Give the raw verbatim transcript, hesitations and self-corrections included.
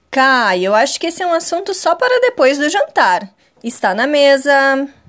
Kai, eu acho que esse é um assunto só para depois do jantar. Está na mesa.